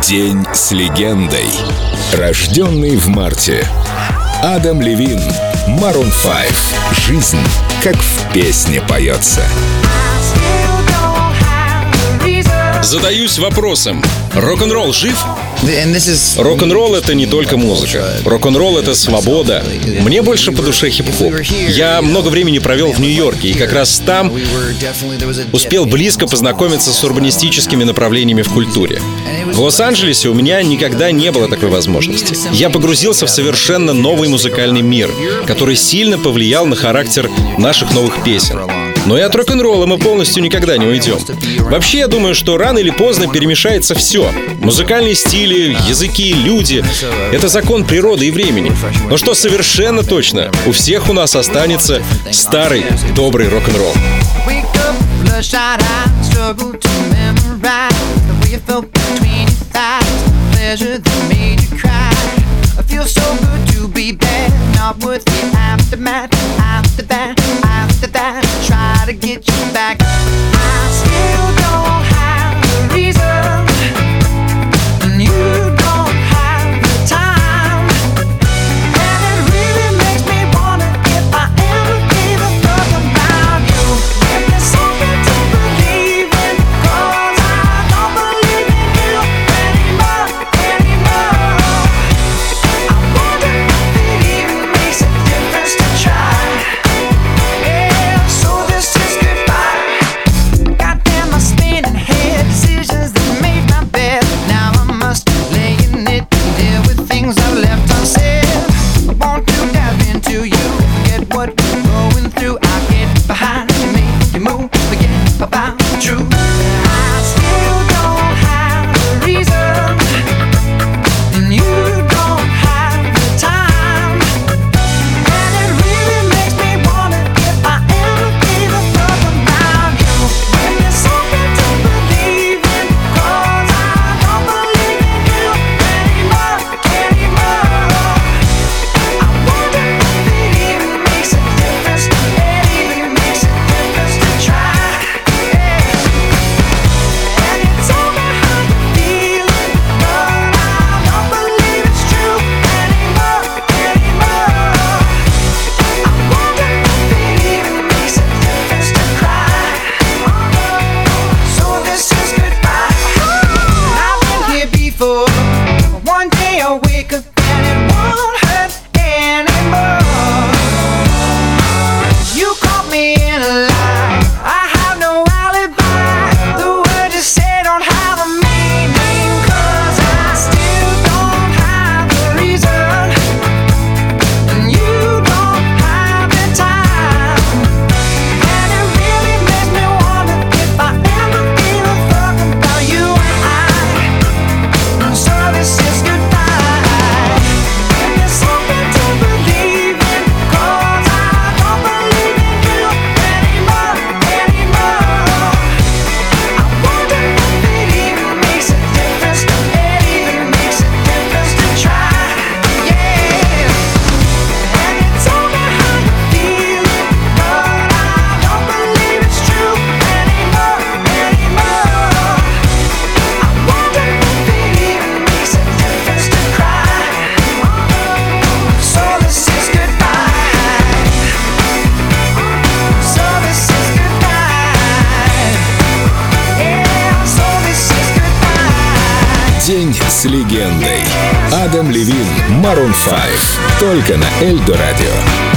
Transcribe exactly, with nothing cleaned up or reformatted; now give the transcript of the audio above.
День с легендой. Рожденный в марте. Адам Левин, Maroon пять. Жизнь, как в песне поется. Задаюсь вопросом: рок-н-ролл жив? Рок-н-ролл — это не только музыка. Рок-н-ролл — это свобода. Мне больше по душе хип-хоп. Я много времени провел в Нью-Йорке, и как раз там успел близко познакомиться с урбанистическими направлениями в культуре. В Лос-Анджелесе у меня никогда не было такой возможности. Я погрузился в совершенно новый музыкальный мир, который сильно повлиял на характер наших новых песен. Но и от рок-н-ролла мы полностью никогда не уйдем. Вообще, я думаю, что рано или поздно перемешается все. Музыкальные стили, языки, люди — это закон природы и времени. Но что совершенно точно, у всех у нас останется старый добрый рок-н-ролл. Try to get you back. I still don't have a reason, and you don't have the time. And it really makes me wonder if I ever gave a fuck about you. If there's something to believe in, 'cause I don't believe in you anymore, anymore. I wonder if it even makes a difference to try. One day I'll wake up and it won't hurt anymore. You caught me in a lie, I have no alibi. The words you say don't have a meaning, 'cause I still don't have the reason, and you don't have the time. And it really makes me wonder if I ever gave a fuck about you and I. So this is goodbye. If there's something to believe in, 'cause I don't believe in you anymore, anymore. I wonder if it even makes a difference, it even makes a difference to try, yeah. And you told me how you feel, but I don't believe it's true anymore, anymore. I wonder if it even makes a difference to cry. So this is goodbye. So this is goodbye. Yeah, so this is goodbye. День с легендой. Адам Левин, Maroon пять. Только на Эльдо Радио.